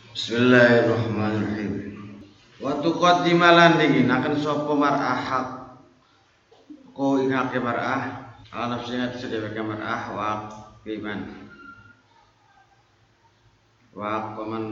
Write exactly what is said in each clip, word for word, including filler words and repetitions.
Bismillahirrahmanirrahim. Wa tuqaddimalan dinginaken sapa mar'ah hak ko ingake mar'ah ala nafsiha sedeweke mar'ah wa iman wa qaman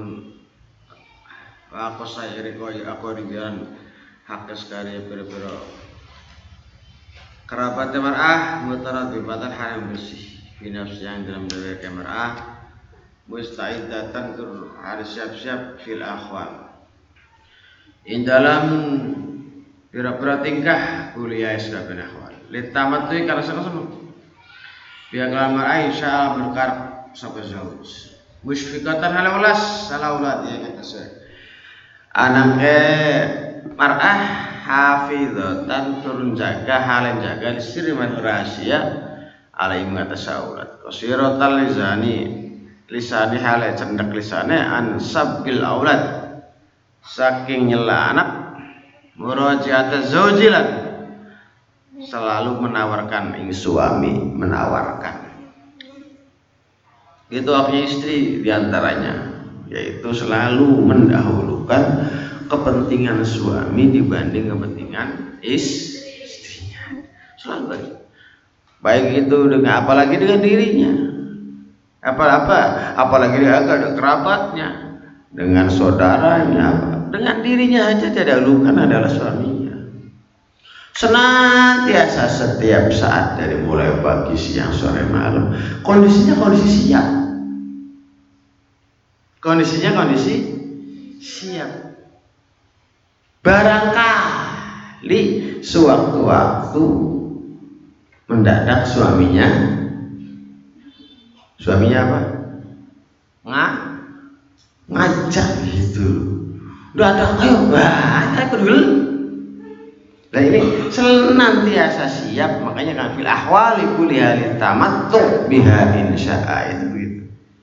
wa qasairi ko aku ribian hak sekali pira-pira kerabat mar'ah mutaradibatan haram bersih binafsi yang dalam deweke mar'ah musta'idatan tur harus siap-siap fil akhwal in dalam pira-pira tingkah kuliah sakabeh akhwal litamat tu kana sama-sama biar lamar Aisyah berkar sapa zauj musfiqatan ala ulas ala ulad ya kata saya anake mar'ah hafizatan tur jaga halen jaga sirri man rahasia alai mengatasaulat qasiratal lizani lisani hale cendak lisane an sabbil aulad saking nyela anak murajaat zaujilan selalu menawarkan ing suami menawarkan itu akhirnya istri diantaranya yaitu selalu mendahulukan kepentingan suami dibanding kepentingan is istrinya selalu baik baik itu dengan apalagi dengan dirinya apa-apa apalagi dia ada kerabatnya dengan saudaranya dengan dirinya aja tidak dahulukan adalah suaminya senantiasa setiap saat dari mulai pagi siang sore malam kondisinya kondisi siap kondisinya kondisi siap barangkali sewaktu-waktu mendadak suaminya suaminya apa? Nggak ngajak gitu. Udah ada ayo banyak dulu. Nah ini senantiasa siap makanya kan fil ahwali kulli halin tamattu biha insya'a itu gitu.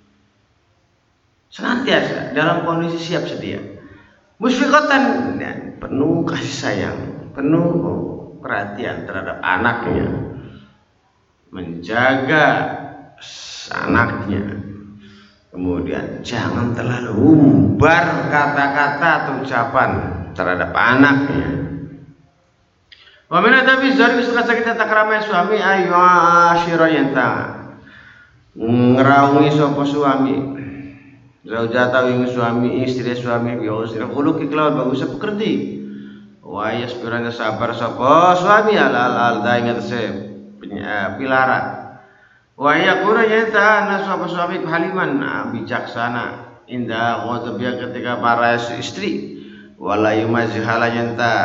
Senantiasa dalam kondisi siap sedia. Musfiqatan dan penuh kasih sayang, penuh perhatian terhadap anaknya. Menjaga anaknya kemudian jangan terlalu umbar kata-kata atau ucapan terhadap anaknya wa min adabi zari wis kita takramai suami ayu asyira yanta ngraungi sapa suami zaujata ing suami istri suami bi usri khuluqi kelawan bagus pekerti wa yasbirana sabar sapa suami alal al daingat se pilara wa yakuna yata nasaba suami haliman bijaksana indah ghadabia ketika para istri wala yumazhala yanta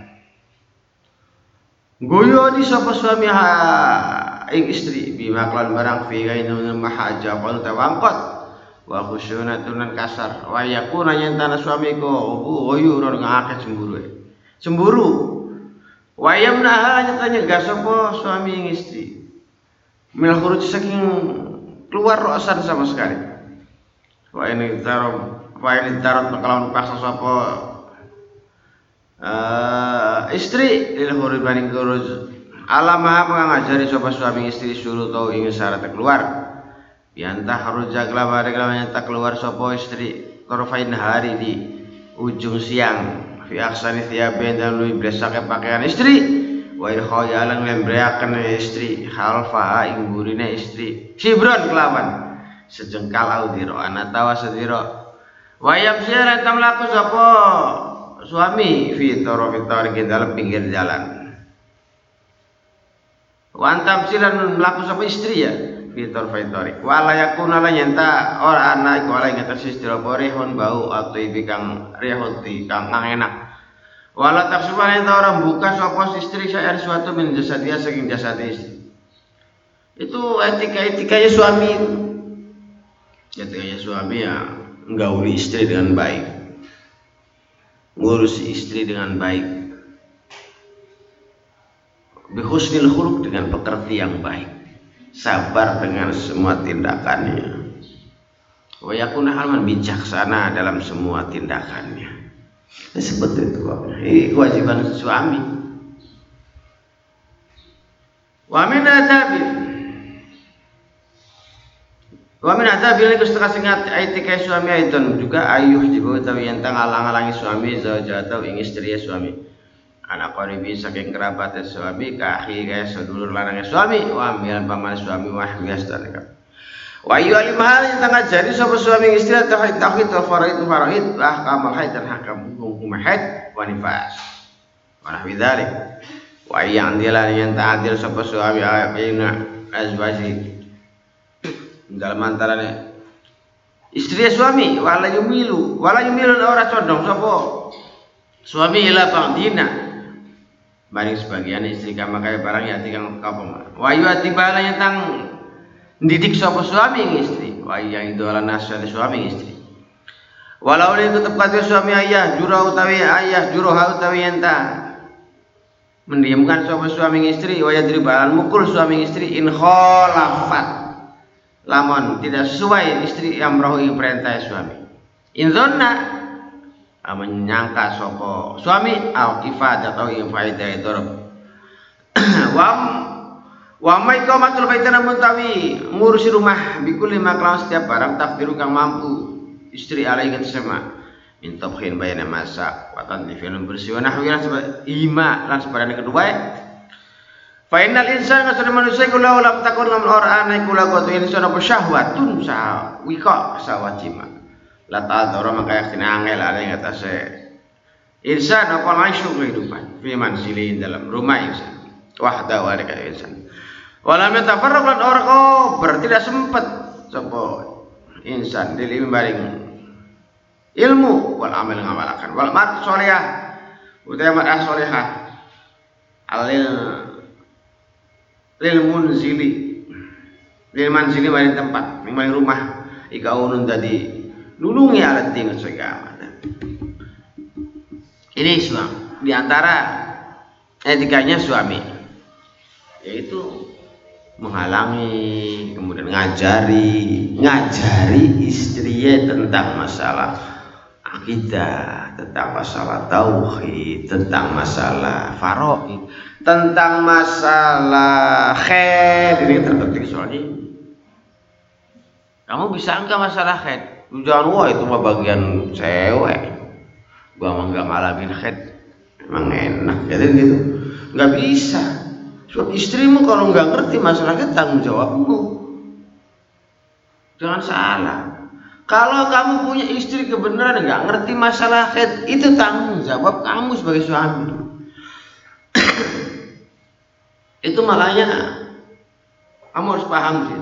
goyo di sapa suami ha ing istri bima klan barang fi gainun mahaja qal tawangkot wa khusyunatun kasar wa yakuna yanta suami ko goyo ora ngake cemburu cemburu wa yamna nyata nyegah sapa suami ing istri minal khuruj saking keluar rosan sama sekali. Wa ini tarom, wa ini tarom kelawan paksa sapa uh, istri lil khuruj baning khuruj alama mengajari sapa suami istri suruh tau ingin syarat keluar. Biantah harus jagla bareng lawan tak keluar sapa istri torfain hari di ujung siang fi aksani thiaben dan lui blesake pakaian istri wa irkhayalan lembreaken istri khalfa ing burine istri sibron kelawan sejengkal audiro anatawa sediro wa yamsira tamlaku sapa suami fi tarafi tariq dalam pinggir jalan wa antam silan mlaku sapa istri ya fi tarafi tariq wa la yakuna la nyenta ora ana iku ala ing atas istri borehon bau atau bikang rehoti kang enak wala taksuban enta orang buka sapa istri saya sesuatu min jasadia saking jasad istri. Itu etika-etikanya suami. Etikanya suami ya nggauli istri dengan baik. Ngurus istri dengan baik. Bi husnil khuluq dengan pekerti yang baik. Sabar dengan semua tindakannya. Wa yakuna halman bijaksana dalam semua tindakannya. Seperti itu ini kewajiban suami. Wa min adabi Wa min adabil setengah singat aitika suami aidon juga ayuh jibu utawi yen ngalang-alangi suami zaujatau ing istri suami. Anak qaribi saking kerabat suami ka akhi kaya sedulur lanang suami wa milan paman suami wa miastan. Wa ayu alimah yen ngajari sapa suami istri tauhid tauhid wa faraid faraid ahkam haid dan hakam hukum haid wa nifas. Wa nahwi dzalik. Wa yang dilan yen ta'adil sapa suami ayina azwaji dalam antaranya istri suami wala yumilu wala yumilu ora condong sapa suami ila ba'dina maring sebagian istri kama kaya barang ya tikang kapoma wa yu atibala yang tang didik sapa suami istri wa yang idola nasal suami istri walau ini tetap kata suami ayah jurah utawi ayah jurah utawi enta mendiamkan sapa suami istri wa yadribalan mukul suami istri in khalafat lamun tidak sesuai istri yang merohi perintah suami. Inzonna menyangka soko suami au ifadah atau ifadah dorb. Wam wamai kau matul baitana muntawi ngurusi rumah bikul lima kelawan setiap barang takdiru kang mampu istri alai kita sama. Mintobhin bayana masak watan livin bersih wa nahwilan sebab ima lan sebarang kedua. Fainal insan ngasana manusia kula lam takun lam ora ana kula goto insan apa syahwatun sa wika sawajima la ta'adzara maka yakina angel ala ing atase insan apa langsung kehidupan fi manzili dalam rumah insan wahda wa alika insan wala metafarraq lan ora kober tidak sempat sapa insan dili baring ilmu wal amal ngamalakan wal mat sholihah utawa mat sholihah alil lil munzili lil manzili maring tempat maring rumah ika unun tadi nulungi alat tinggal segala ini suami diantara etikanya suami yaitu menghalangi kemudian ngajari ngajari istrinya tentang masalah akidah, tentang masalah tauhid, tentang masalah faraid, tentang masalah khair. Ini terpenting soalnya. Kamu bisa enggak masalah khair? Jangan wah itu mah bagian cewek. Gua mah enggak ngalamin khair. Emang enak jadi gitu. Enggak bisa. So, istrimu kalau enggak ngerti masalah khair tanggung jawabmu. Jangan salah. Kalau kamu punya istri kebenaran nggak ngerti masalah haid, itu tanggung jawab kamu sebagai suami. Itu makanya kamu harus paham sih.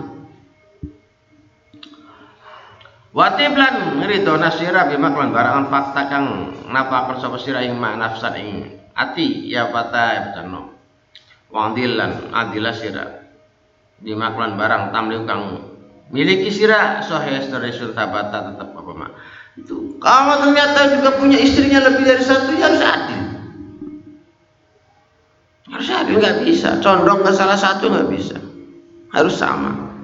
Watiblan ngrido nasira bima klan barang fakta kang napa sapa sira ing nafsan ing ati ya fata betano. Wong dilan adilah sira bima klan barang tamliu kang miliki sirah sahih resul tabata tetap apa mak itu kamu ternyata juga punya istrinya lebih dari satu ya harus adil harus adil nggak bisa condong ke salah satu nggak bisa harus sama.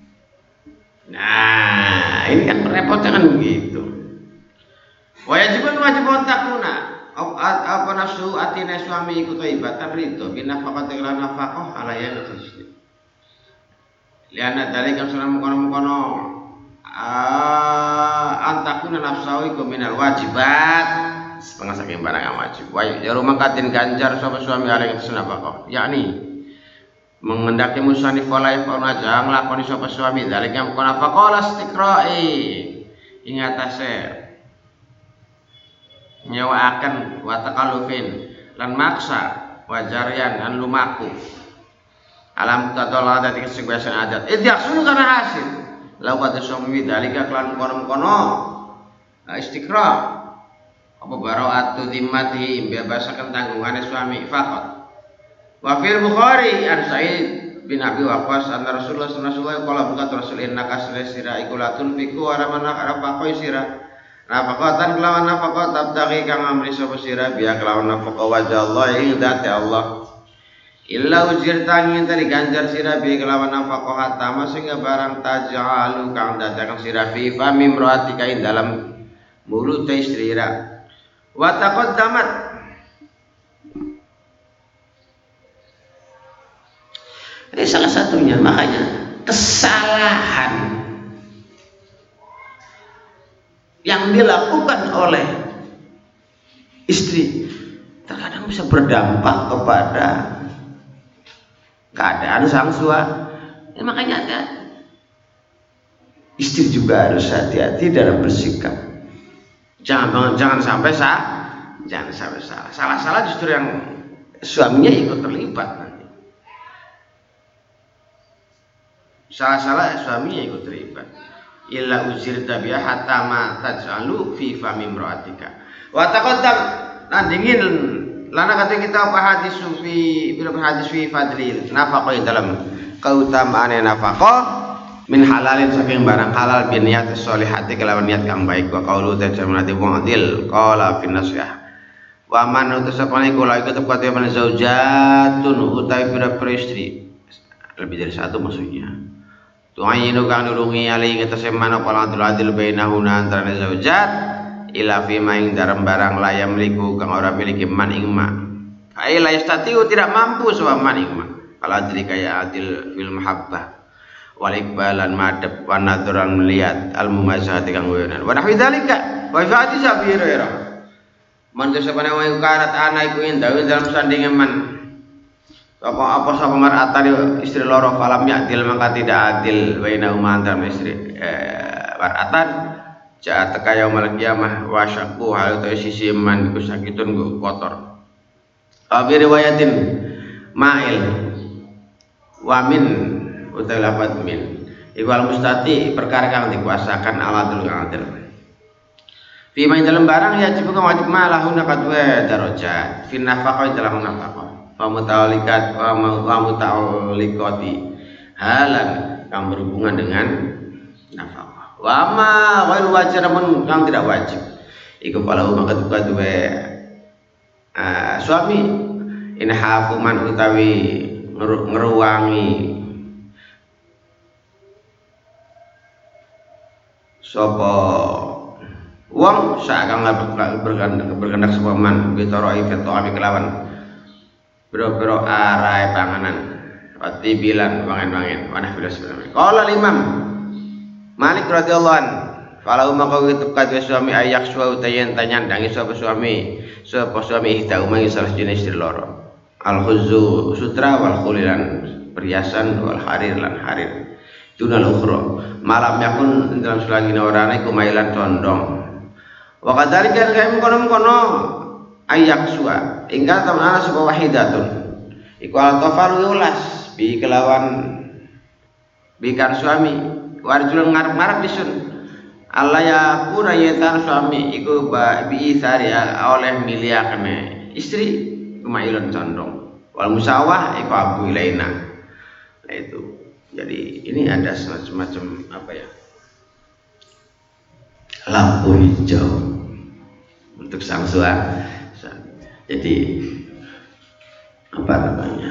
Nah ini kan repotnya kan begitu. Wajibun wajibun takuna apa nafsu atina suami ikut ibatan ridho binafaqati lan nafaqah alayya khusni liana dari kan sunan mukono-mukono antakuna nafsawi kuminal wajibat setengah saking barang yang wajib wajib ya rumah katin ganjar sapa suami alaihi sunabako yakni mengendaki musanif walai fauna jang lakoni sapa suami dari yang mukono faqala istiqra'i ing atase nyewaaken wa takallufin lan maksa wajarian lan lumaku alam tatolah dari kesebiasaan adat idyak sunu karena hasil lakukan suami dalika klan kono-kono istiqra apa bara'atu zimmati bebasakan tanggungannya suami faqat wa fil Bukhari an Sa'id bin Abi Waqqas anna Rasulullah sallallahu alaihi wasallam qala bukat rasul innaka sira ikulatun fiku wa ramana rafaqoi sira nafaqatan kelawan nafaqat tabtaghi kang amri sapa sira biya kelawan nafaqah wajah Allah ing dzati Allah illa ujir tangin tadi ganjar sira bi kelawan nafaqah hatta sehingga barang taj'alu kang dadakan sira fi fami imraatika ing dalam mulut istri ira wa taqaddamat ini salah satunya makanya kesalahan yang dilakukan oleh istri terkadang bisa berdampak kepada keadaan sang suami. Ya, makanya ada istri juga harus hati-hati dalam bersikap. Jangan jangan sampai salah, jangan sampai salah. Salah-salah justru yang suaminya ikut terlibat nanti. Salah-salah suaminya ikut terlibat. Illa uzirta biha hatta ma taj'alu fi fami imra'atika. Wa taqaddam lan dingin lana kata kita apa hadis fi bila hadis fi fadlil nafaqah dalam keutamaan nafaqah min halalin saking barang halal bi niat sholihati kelawan niat kang baik wa qaulu tajamati mu'dil qala fi nasyah wa man utasapane kula iku tepat ya man zaujatun utawi pira-pira istri lebih dari satu maksudnya tu'ayinu kang nulungi ali ngetese man apa lantul adil bainahuna antara zaujat ila fi maing dalam barang la yamliku kang ora miliki man ing ma ai la yastatiu tidak mampu sawa man ing ma kalau adil kaya adil fil mahabbah wal iqbalan madhab wa nadran melihat al mumasyahati kang wenan wa nahwi dzalika wa fa'ati sabira man desapane wae karat ana iku indah dalam sandingan man apa apa sapa mar'atan istri loro falam ya'dil maka tidak adil baina umantan istri eh, mar'atan ja teka yaumul qiyamah wa syaqu hal ta sisi man iku sakitun go kotor. Abi riwayatin ma'il wa min utai lafad min iku al mustati perkara kang dikuasakan aladul adil. Fi ma dalam barang ya jibu kang wajib malahuna kadwe darajat fi nafaqah dalam nafaqah. Wa muta'alliqat wa muta'alliqati halan yang berhubungan dengan nafkah. Wa ma ghairu wajib namun yang tidak wajib. Iku falahu maka duwe uh, suami in hafu man utawi ngeruwangi sapa wong sakang berkendak berkendak sapa man bitara ifatu ami kelawan biro-biro arai panganan wati bilan wangen-wangen wanah bilas bilan qala imam Malik radhiyallahu an falau maka tetep kadhe suami ayak suwa utayen tanyandangi sapa suami sapa suami ihda umangi salah jenis istri loro al khuzzu sutra wal khulilan perhiasan wal harir lan harir dunal ukhra malam yakun dalam selagine orane kumailan condong wa kadzalika kaya mengkono-mengkono ayak suwa ingkang tamana sapa wahidatun iku al-tafaru yulas bi kelawan bikan suami warjul ngarep-ngarep disun Allah ya kuna yetan suami iku bi isari oleh miliakane istri kemailun condong wal musawah iku abu ilaina. Nah itu jadi ini ada semacam apa ya lampu hijau untuk sang suami. Jadi apa namanya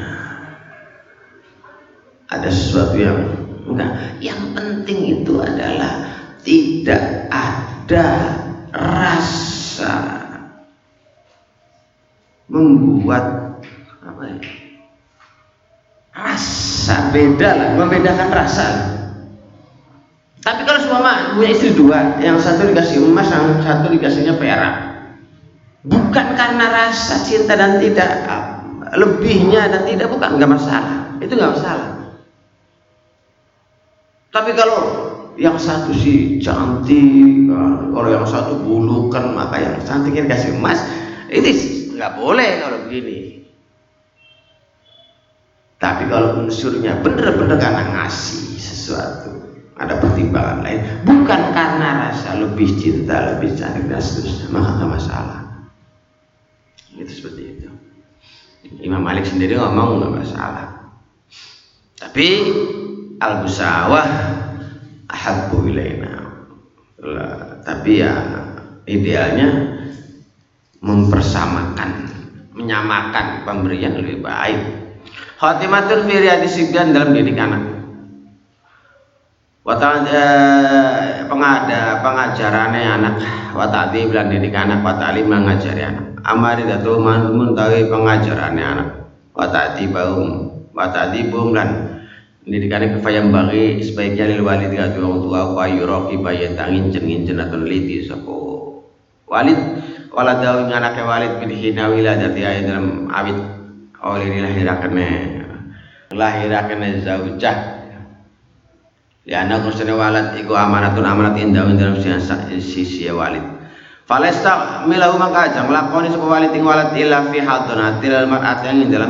ada sesuatu yang enggak yang penting itu adalah tidak ada rasa membuat apa ya rasa beda lah membedakan rasa. Tapi kalau suami punya istri dua yang satu dikasih emas yang satu dikasihnya perak bukan karena rasa cinta dan tidak lebihnya dan tidak bukan nggak masalah itu nggak masalah. Tapi kalau yang satu sih cantik kalau yang satu bulukan maka yang cantiknya dikasih emas ini nggak boleh kalau begini. Tapi kalau unsurnya bener-bener karena ngasih sesuatu ada pertimbangan lain bukan karena rasa lebih cinta lebih cantik dan seterusnya maka nggak masalah. Itu seperti itu. Imam Malik sendiri ngomong nggak masalah. Tapi al-musawah ahabbu ilaina. Tapi ya idealnya mempersamakan, menyamakan pemberian lebih baik. Khatimatul fi riyadis sigdan dalam didik anak. Wata pengada pengajarannya anak, wata bilan didik anak, wata alim mengajari anak. Amari datu muntawi pengajarannya anak, wata tibum, wata tibum dan Pendidikannya kefayam bagi sebaiknya lil walid katu orang tua wa yuroki bayan tangin jengin jenatun liti sopo walid waladawi nganake walid bidihina wiladati ayat dalam awit oleh dilahirakannya lahirakannya zaujah liana kusene walad iku amanatun amanat indah dalam sisi walid falesta milahu maka aja ngelakoni sopo walid ing walad illa fi hadonatil mar'at yang dalam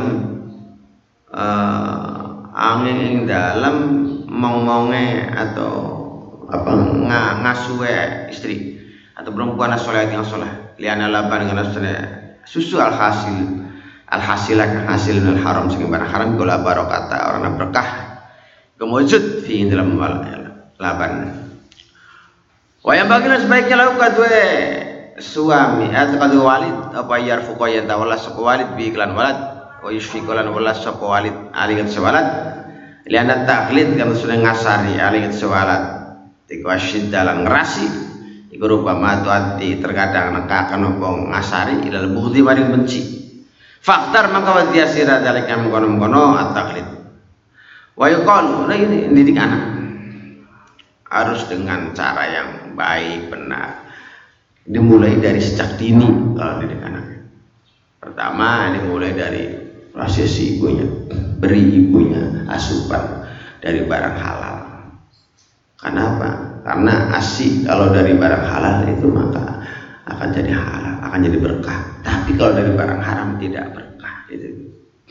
uh, angin ing dalam mong-monge atau apa nga, ngasuwe istri atau perempuan soleh yang soleh liana laban dengan susu al hasil al hasil akan hasil al haram sing barang haram gola barokata orang berkah kemujud fi dalam laban wayang bagian sebaiknya lakukan dua suami atau kedua walid apa yarfu qaya tawalla sapa walid bi iklan walad wa yushfikulan wala sapa walid aligat sewalad liana taklid kan sudah ngasari aligat sewalad tiku asyid dalam ngerasi iku rupa matuati terkadang nekakan apa ngasari ilal bukti maring benci faktar maka wadiasira dalika mengkono-mengkono at-taklid wa yuqalu nah ini didik anak harus dengan cara yang baik benar dimulai dari sejak dini kalau didik anak pertama dimulai dari prosesi ibunya, beri ibunya asupan dari barang halal. Kenapa? Karena asih kalau dari barang halal itu maka akan jadi halal, akan jadi berkah. Tapi kalau dari barang haram tidak berkah. Itu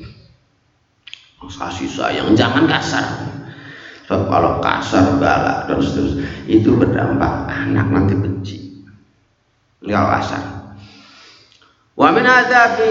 kasih sayang, jangan kasar. Sebab kalau kasar, galak dan seterusnya itu berdampak anak nanti benci. Enggak kasar. Wa min adabi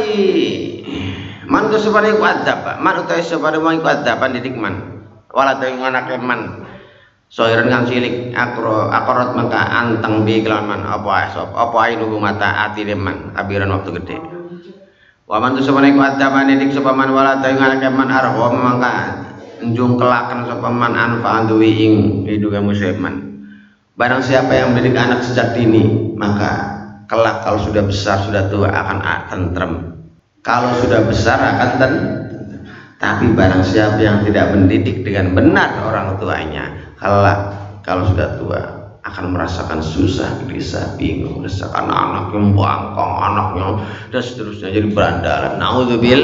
man tu sabare ku adab man utawi sabare wong iku adaban didik man wala dewe anake man soiren kang cilik akro akorot mangka anteng bi kelawan man apa asop apa ae nunggu mata atine man kabiran waktu gede wa man tu sabare ku adaban didik sapa man wala dewe anake man arho mangka njung kelaken sapa man anfa duwi ing hidupe musliman barang siapa yang mendidik anak sejak dini maka kelak kalau sudah besar sudah tua akan tentrem. Kalau sudah besar akan ten, tapi barang siapa yang tidak mendidik dengan benar orang tuanya, kelak kalau sudah tua akan merasakan susah, gelisah, bingung, merasakan anak yang bangkong, anaknya dan seterusnya jadi berandalan. Naudzubil,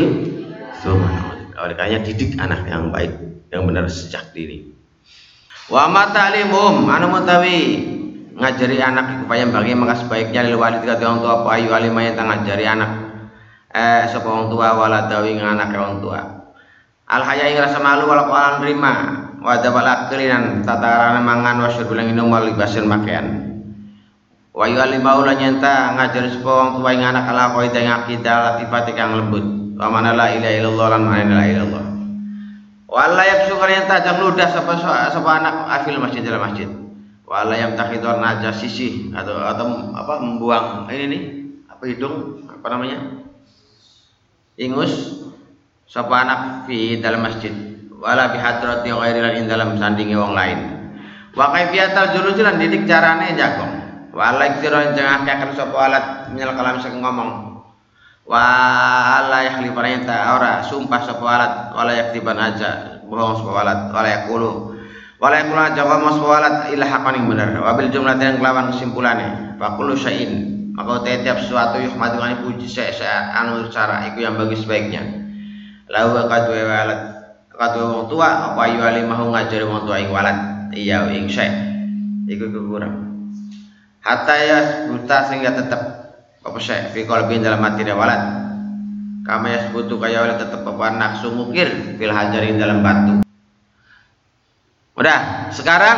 oleh karenanya didik anak yang baik, yang benar sejak dini. Wa ma ta'limum anu mutawi ngajari anak supaya bagi maka sebaiknya lil walid kata orang tua apa ayu alimah yang ngajari anak eh sapa wong tua wala dawi anak wong tua al haya ing rasa malu wala qalan nerima wa dabal aklinan tataran mangan wa syurbulan minum wal libasin pakaian wa ayu alimah ulah nyenta ngajari sapa wong tua ing anak ala qaidah ing akidah latifat kang lembut wa mana la ilaha illallah lan la ilaha illallah wala yaksu nyenta jang ludah sapa sapa anak afil masjid dalam masjid wala yang takhidor najah sisih atau atau apa membuang ini nih apa hidung apa namanya ingus sapa anak fi dalam masjid wala bihadrati ghairil in dalam sandinge wong lain wa kaifiyatul jurujilan didik carane jagong wala iktiran jangan akeh sapa alat menyal kalam sing ngomong wala yahlifan ta ora sumpah sapa alat wala yaktiban aja bohong sapa alat wala yaqulu wala yakula jawab mas walat ila haqqan yang benar wabil jumlah yang kelawan kesimpulannya fa kullu syai'in maka tiap sesuatu yuhmadu kan puji saya anu cara iku yang bagus sebaiknya lawa kadwe walat kadwe wong tua apa ayu ali mau ngajari wong tua ing walat iya ing syai iku kurang hatta ya buta sehingga tetap apa syai fi qalbi dalam hati dia walat kama ya sebutu kaya walat tetap apa nafsu mukir fil hajarin dalam batu. Udah, sekarang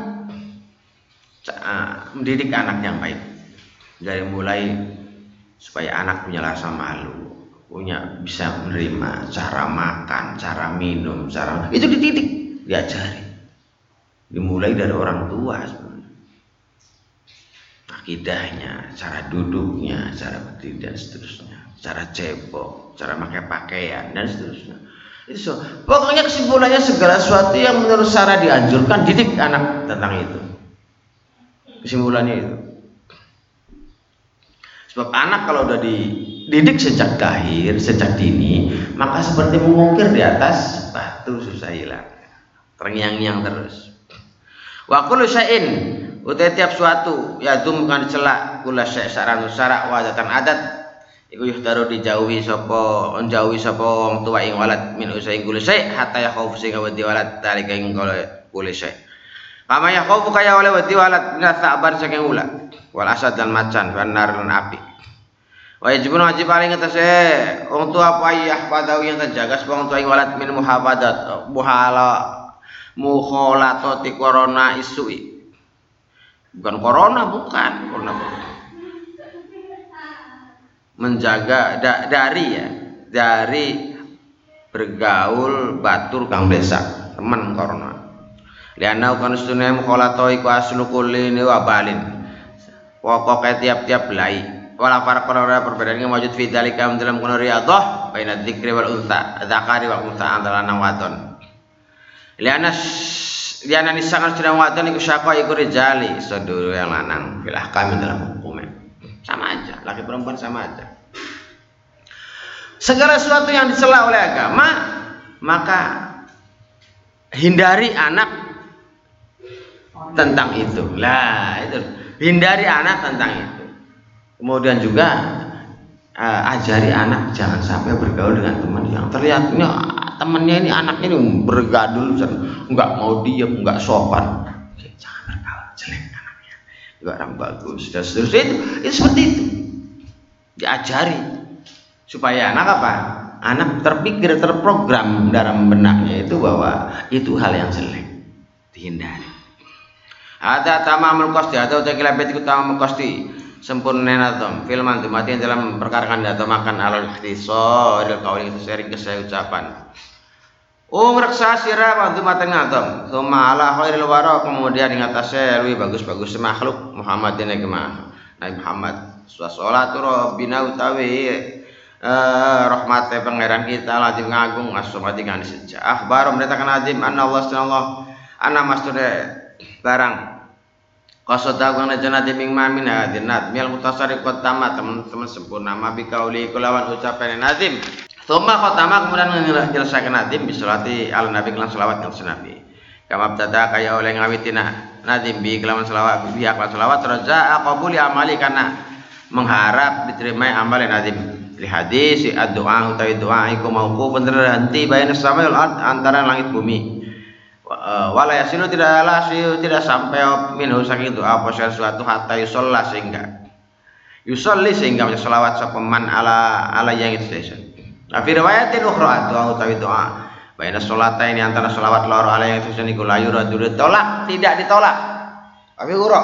uh, mendidik anak yang baik dari mulai supaya anak punya rasa malu, punya bisa menerima cara makan, cara minum, cara itu dididik, diajari, dimulai dari orang tua sebenarnya. Akidahnya, cara duduknya, cara berdiri dan seterusnya, cara cebok, cara pakai pakaian dan seterusnya. Itu pokoknya kesimpulannya segala sesuatu yang menurut Sarah dianjurkan didik anak tentang itu. Kesimpulannya itu. Sebab anak kalau udah dididik sejak lahir, sejak dini, maka seperti mengukir di atas batu susah hilang. terngiang-ngiang terus. Wa kullu syai'in utai tiap suatu ya dum kan celak kula syai' saran syarak wa adatan adat iku yuhtaru dijauhi sapa njauhi sapa wong tuwa ing walad min usai kullu syai' hatta ya khaufu sing wedi walad dalika ing kullu syai'. Kama ya khaufu kaya oleh wedi walad min sa'ban saking ula wal asad dan macan benar lan api. Wa yajibun wajib paling ngatese wong tua payah padawi yang terjaga wong tua ing walad min muhafadat muhala mukhalatati corona isui. Bukan corona, bukan corona. Menjaga da, dari ya, dari bergaul batur kang desa, teman corona. Liana kan sunai mukhalato iku aslu kulli wabalin. Pokoknya tiap-tiap belai. Wala farq ora perbedaan yang wujud fi dzalika dalam kono riyadhah baina dzikri wal unsa, dzakari wa unsa antara lanang wadon. Liana liana nisangan sedang wadon iku syaqqa iku rijali sedulur yang lanang fil ahkam dalam hukumnya. Sama aja, laki perempuan sama aja. Segala sesuatu yang dicela oleh agama, maka hindari anak tentang itu. Lah, itu hindari anak tentang itu. Kemudian juga uh, ajari anak jangan sampai bergaul dengan teman yang terlihatnya temannya ini anaknya ini bergadul, nggak mau diem, nggak sopan. Jangan bergaul, jelek anaknya, nggak orang bagus. Dan seterusnya itu, itu seperti itu. Diajari supaya anak apa? Anak terpikir, terprogram dalam benaknya itu bahwa itu hal yang jelek, dihindari. Ada tamamul qasdi atau takilabet itu tamamul qasdi sempurna natom filman mati dalam perkara kan atau makan alal ikhtisar il qauli itu sering kesaya ucapan um raksa sira bantu mateng natom summa ala khairil wara kemudian ing atase luwih bagus-bagus makhluk Muhammadin iki mah Nabi Muhammad sallallahu rabbina utawi eh rahmate pangeran kita lazim ngagung asmati kan sejak akhbar mendatangkan azim anna Allah sallallahu ana mastude barang qasada kang janati ming mamin hadinat mil mutasarriqat tamat teman-teman sempurna mabi kauli kulawan ucapan nazim thumma khatama kemudian ngejelasaken nazim bisolati ala nabi lan selawat kang senabi kama tada kaya oleh ngawitina nazim bi kelawan selawat bi aklan selawat raja qabuli amali karena mengharap diterima amal nazim li hadis ad-du'a utawi doa iku mauqufun terhenti baina samai wal ard antara langit bumi. Wala yasilu tidak lasiu tidak sampai minhu saking doa apa sesuatu hatta yusolla sehingga yusolli sehingga baca selawat sapaman ala ala yang itu desa. Nah, fi riwayatin ukhra doa utawi doa baina sholata ini antara selawat loro ala yang itu niku layu radul tolak tidak ditolak. Tapi ura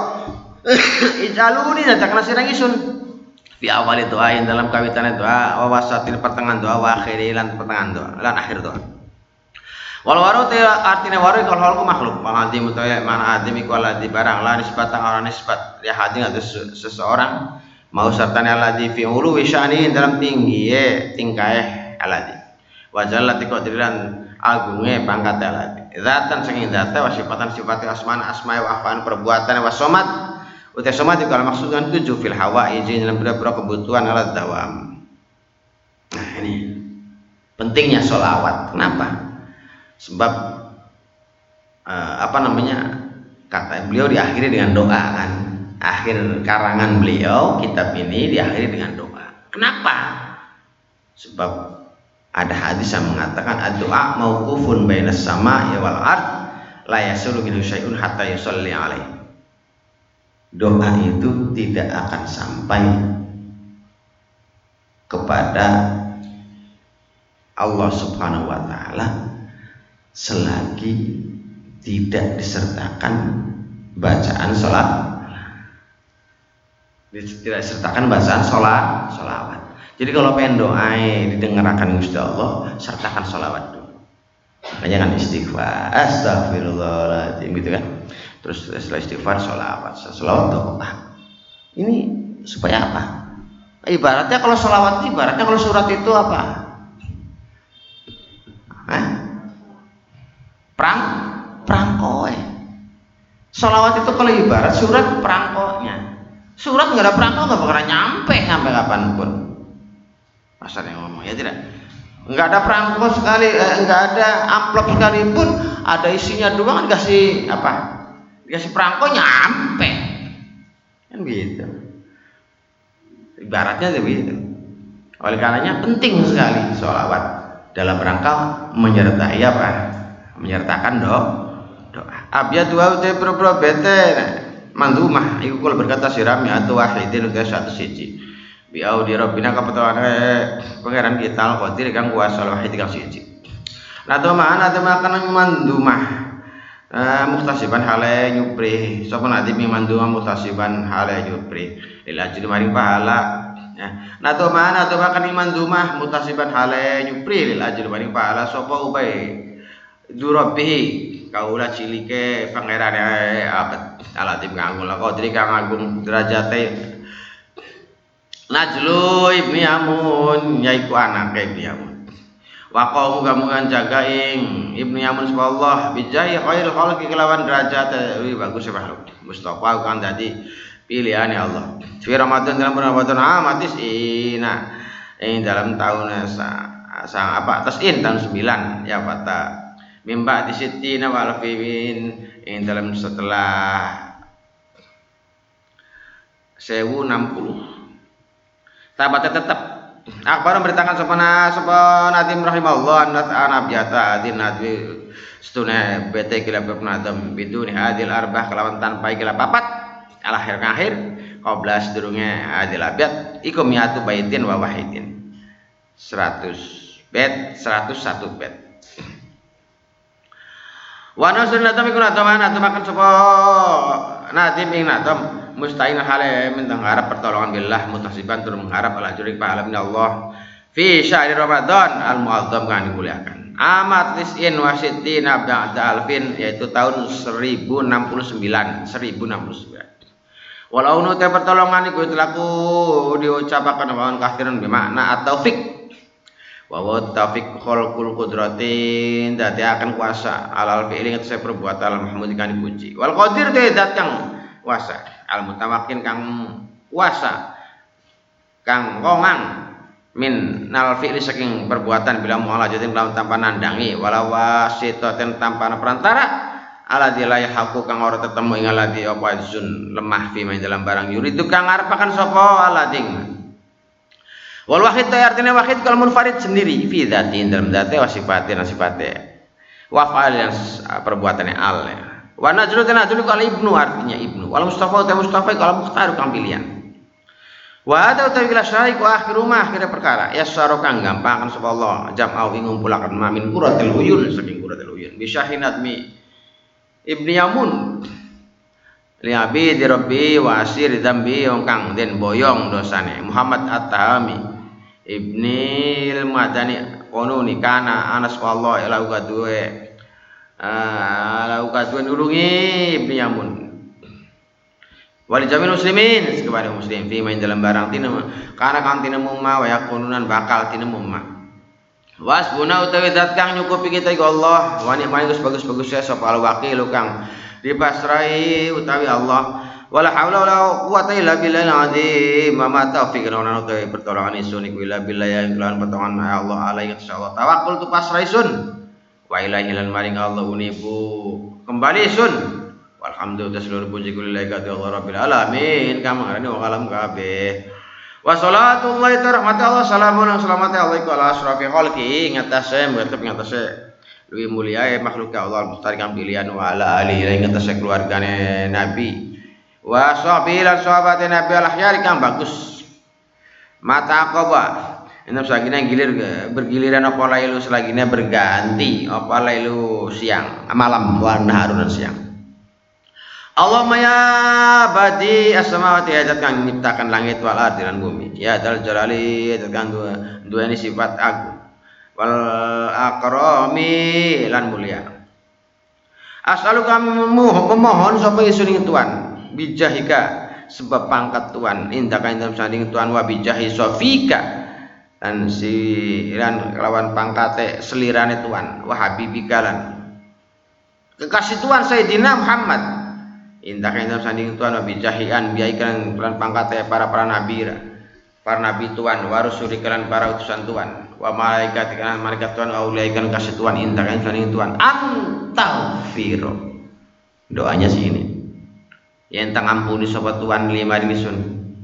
ijaluni takna sirang isun fi awali doa yang dalam kawitan doa wa wasatil pertengahan doa wa akhiri lan pertengahan doa lan akhir doa. Wal waru te artine waru kalau halku makhluk maladhi mutaya mana adim iku aladhi barang la nisbatan orang nisbat li hadin atau seseorang mau sertane aladhi fi ulu wisyani dalam tinggi ye tingkae aladhi wajallati qadrilan agunge pangkat aladhi zatan saking zata wa sifatan sifati asman asma'i wa afan perbuatan wa somat uta somat iku maksud kan tujuh fil hawa izin dalam beberapa kebutuhan alat dawam. Nah ini pentingnya sholawat. Kenapa? Sebab uh, apa namanya kata beliau diakhiri dengan doa kan, akhir karangan beliau kitab ini diakhiri dengan doa. Kenapa? Sebab ada hadis yang mengatakan ad-doa mauqufun bainas sama'i wal ard la yasulu minhu syai'un hatta yusalli alaihi. Doa itu tidak akan sampai kepada Allah Subhanahu wa taala selagi tidak disertakan bacaan sholat, tidak disertakan bacaan sholat, sholawat. Jadi kalau pengen doa didengarkan Gusti Allah, sertakan sholawat dulu. Makanya kan istighfar, astagfirullahaladzim gitu kan. Terus setelah istighfar sholawat, sholawat doa. Ini supaya apa? Ibaratnya kalau sholawat, ibaratnya kalau surat itu apa? Hah? Perang, perangkoe. Sholawat itu kalau ibarat surat perangkonya. Surat nggak ada perangko nggak bakal nyampe sampai kapanpun. Pasar yang ngomong ya tidak. Enggak ada perangko sekali, eh, enggak ada amplop sekalipun, ada isinya doang dikasih apa? Dikasih perangko nyampe. Kan gitu. Ibaratnya begitu. Oleh karenanya penting sekali sholawat dalam rangka menyertai apa? Menyertakan do, doa. Abya dua utai pro-pro bete mandumah. Iku kalau berkata sirami atau wahidin utai satu siji. Biau di Rabbina kapatuan pangeran kita al-qadir kang kuasa wahid kang siji. Nato mana nato makan mandumah. Uh, muhtasiban hale nyupri sapa nadi mandumah muhtasiban hale nyupri lil ajri maring pahala ya nato mana nato makan mandumah muhtasiban hale nyupri lil ajri maring pahala sapa ubay durabihi kaula cilike pangerane abad alatim kang kula qadri kang agung derajate Najlu ibni Amun yaiku anake ibni Amun waqau muga-muga jaga ing ibnu Yamun subhanallah bijai khairil khalqi kelawan derajat wi bagus makhluk Mustafa kang dadi pilihane Allah fi Ramadan dalam bulan Ramadan amatis ina ing dalam tahun sang apa tasin tahun sembilan ya fata mimba di sitina wal fiin ing dalam setelah seribu enam puluh tabat tetap Akbar memberitakan sopana sopana Nadim rahimahullah anas anabiyata adin nadwi stune bete kila bernadam biduni adil arbah kelawan tanpa kila papat alakhir akhir qabla sedurunge adil abiyat iku miatu baitin wa wahidin seratus bet seratus satu bet wa nasun nadam iku nadam nadam akan sopo Nadim ing nadam musta'in hale mentang harap pertolongan billah mutasiban tur mengharap ala jurik pahala min Allah fi syahri Ramadan al muazzam kan dimuliakan amat tis'in wa sittina ba'da alfin yaitu tahun seribu enam puluh sembilan walau nu teh pertolongan iku telaku diucapaken lawan kafiran bermakna at-taufik wa wa taufik khalqul qudratin dadi akan kuasa alal fi'li ngatasi perbuatan mahmud kan dipuji wal qadir teh zat kang kuasa al mutawakin kang kuasa kang kongang min nal fi'li saking perbuatan bila mu'alajatin lawan tanpa nandangi walau wasitaten tanpa perantara ala dilayah haku kang ora tetemu ing aladi apa zun lemah fi main dalam barang yuridu kang arepaken sapa alading wal wahid ta artinya wahid kal munfarid sendiri fi dzati dalam dzate wa sifatin sifate wa fa'al perbuatannya al ya. Wa najlu tanajlu kal ibnu artinya ibnu wal mustafa ta mustafa kal mukhtar kang pilihan wa ada utawi syariq wa akhiru ma akhir perkara yasaru kang gampang kan sapa Allah jam'au ing ngumpulaken ma min quratil uyun saking quratil uyun bi syahinat mi ibni Yamun li abi di rabbi wa asir dzambi wong kang den boyong dosane Muhammad at-Tahami ibni al-Madani kono nikana Anas wallahu ila ugadue ala ukatun nulungi ibni Yamun wali jamil muslimin kepada muslim fi main dalam barang tinemu karena kan tinemu ma wa yakununan bakal tinemu ma wasbuna utawi zat kang nyukupi kita iku Allah wa ni'mal bagus-bagus ya sapa al wakil kang dipasrai utawi Allah wala haula wala quwata illa billahil azim ma taufiq ana utawi pertolongan isun iku illa billah ya iklan pertolongan Allah alaihi insyaallah tawakkul tu pasrai sun wa ilahi lan maring Allah unibu kembali sun walhamdulillah seluruh puji kulillahi kati Allah rabbil alamin kang ngarani wong alam kabeh wa salatullahi rahmati Allah salamun salamati Allah iku ala asrafi khalqi ngatasé mboten ngatasé luwih mulia makhluk Allah mustari kang pilihan wa ala alihi lan ngatasé keluargane nabi wa sahbihi lan sahabate nabi al akhyar kang bagus mata aqaba Enam selagina gilir bergiliran apa lailu selagina berganti apa lailu siang malam warna harunan siang. Allahumma ya badi as-samawati hajat kang nyiptakan langit wal ardi lan bumi ya dal jalali tekan dua dua ini sifat agung wal akrami lan mulia. As'aluka memohon sapa isun ing Tuhan bijahika sebab pangkat Tuhan indah kan dalam sanding Tuhan wa bijahi sofika dan si lan lawan pangkate selirane Tuhan wa habibikalan kekasih Tuhan Sayyidina Muhammad indah kan dalam sanding Tuhan wa bijahi an biaikan lan pangkate para para nabi para nabi Tuhan, wa rusuli kalan para utusan Tuhan, wa malaikat kalan malaikat Tuhan, wa ulaikan kasih Tuhan, intakan saling Tuhan, antagfiro. Doanya sih ini. Yang tang ampuni sobat Tuhan lima dinisun,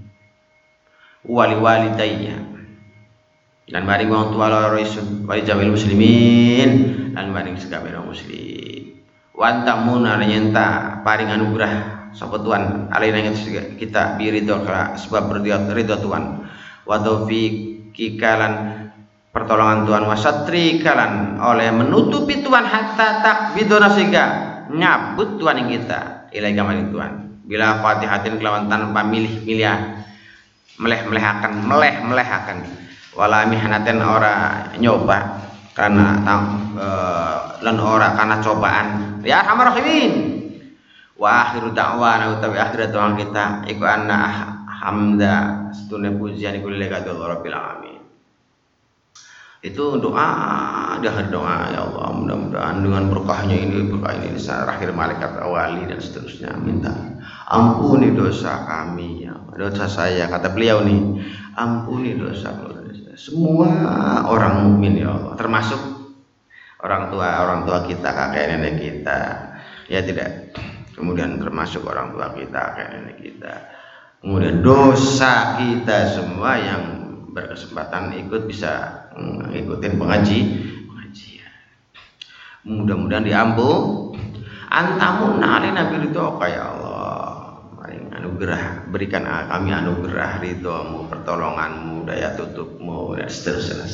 wali walidayya, dan maring wong tua loro isun, wali jamil muslimin, dan maring sekabeh muslim. Wantamuna nyenta paring anugerah sobat Tuhan alaina kita biridho sebab ridho Tuhan, wa taufiqi kalan pertolongan Tuhan, wasatri kalan oleh menutupi Tuhan hatta takbidona sehingga nyabut Tuhan yang kita ilai kamarin Tuhan bila fatihatin kelawan tanpa milih-milih meleh-melehakan meleh-melehakan wala mihnatin ora nyoba karena e, lan ora karena cobaan ya arhamar rahimin. Wa akhiru da'wana utawi akhirat doa kita iku anna hamda setune pujian iku lillahi rabbil alamin. Itu doa di akhir doa, ya Allah mudah-mudahan dengan berkahnya ini berkah ini di akhir malaikat awali dan seterusnya minta ampuni dosa kami ya dosa saya, kata beliau nih, ampuni dosa semua orang mukmin ya Allah, termasuk orang tua orang tua kita, kakek nenek kita ya tidak, kemudian termasuk orang tua kita, kakek nenek kita, kemudian dosa kita semua yang berkesempatan ikut bisa ngikutin pengaji pengajian, mudah-mudahan diampun. Antamu nali nabi ridho ya Allah, maring anugerah, berikan kami anugerah ridhomu, pertolonganmu, daya tutupmu dan seterusnya.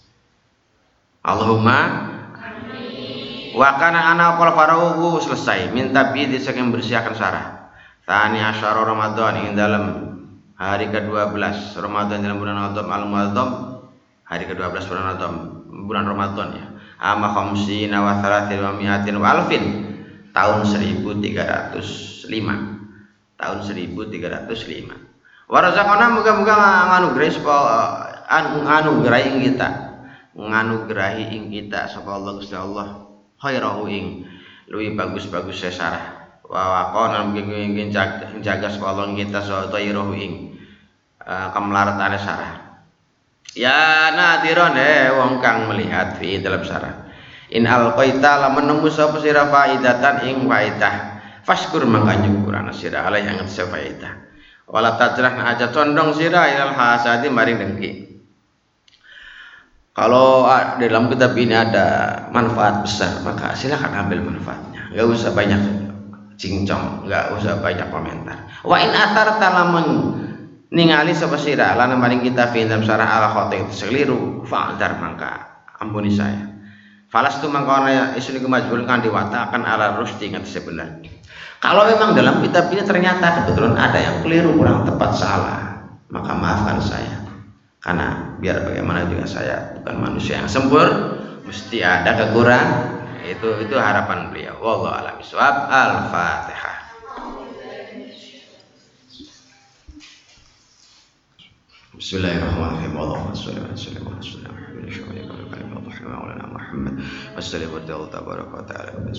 Allahumma amin. Wa kana ana qol farahu selesai minta bi disaking bersihkan sarah tani asyara Ramadan ing dalam hari ke-dua belas Ramadan dalam bulan Ramadan al-Muharram, hari ke-dua belas bulan Ramadan bulan Ramadan ya. Ama khamsina wa thalathin wa mi'atin wa alfin, tahun seribu tiga ratus lima. Tahun seribu tiga ratus lima. Wa razaqana muga-muga nganugrahi sapa nganugrahi ing kita. Nganugrahi ing kita sapa Allah Gusti Allah khairahu ing luwih bagus-bagus sesarah. Wa waqana muga-muga jaga sapa Allah ing kita khairahu ing kamlaratane sarah. Ya nadiron eh wong kang melihat fi dalam sarah. In alqaita lamun nemu sapa sira faidatan ing faidah. Faskur mangka nyukur ana sira alai yang ngatese faidah. Wala tajrah aja condong sira ilal hasadi maring dengki. Kalau dalam kitab ini ada manfaat besar, maka silakan ambil manfaatnya. Enggak usah banyak cincong, enggak usah banyak komentar. Wa in atar talamun ningali sapa sira lan maring kita fi dalam sarah ala khotin sekeliru fa'dar mangka ampuni saya. Falastu mangkana isun iku majbul kan diwatakan ala rusdi ngatese benar. Kalau memang dalam kitab ini ternyata kebetulan ada yang keliru, kurang tepat, salah, maka maafkan saya. Karena biar bagaimana juga saya bukan manusia yang sempurna, mesti ada kekurangan. Itu itu harapan beliau. Wallahu a'lam bishawab. Al-Fatihah. Bismillahirrahmanirrahim. Allahumma shalli wa sallim ala sayyidina Muhammad wa sallim wa tabaraka wa ta'ala wa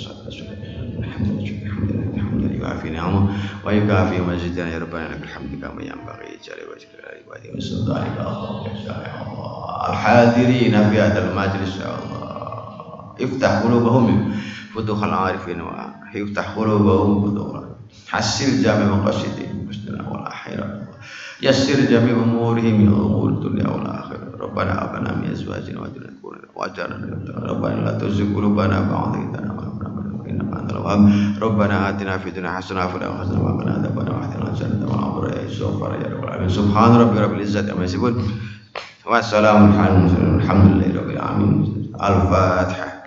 yuafi ni'amah wa yukafi mazidana ya rabbana lakal hamdu kama yanbaghi jalla wa jalla wa ala sultanika al-hadirin fi hadzal majlis ya Allah iftah qulubahum futuhal arifin wa iftah qulubahum futuhal hasil jami' maqasidin musnad wal akhirah yassir jami' umurihim ya umur dunya wal akhirah rabbana abana min azwajina wa dhurriyyatina wa jarna rabbana la tuzigh qulubana ba'da idh hadaytana Rabbana atina fid dunya hasanah wa fil akhirati hasanah wa qina adzabannar wa qina adzabannar ya subhana ya rabbal alamin subhana rabbika rabbil izzati amma yasifun wa salamun alhamdulillahi rabbil alamin. Al-Fatihah.